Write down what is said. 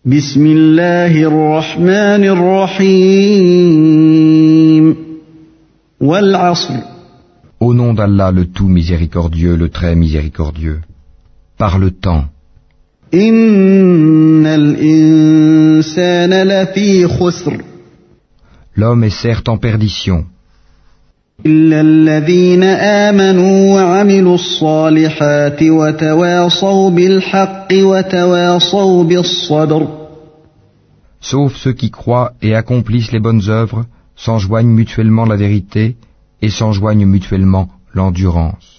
بسم الله الرحمن الرحيم والعصر Au nom d'Allah le tout miséricordieux, le très miséricordieux. Par le temps. إن الإنسان لفي خسر L'homme est certes en perdition, إلا الذين آمنوا وعملوا الصالحات وتواصوا بالحق وتواصوا بالصبر sauf ceux qui croient et accomplissent les bonnes œuvres, s'enjoignent mutuellement la vérité et s'enjoignent mutuellement l'endurance.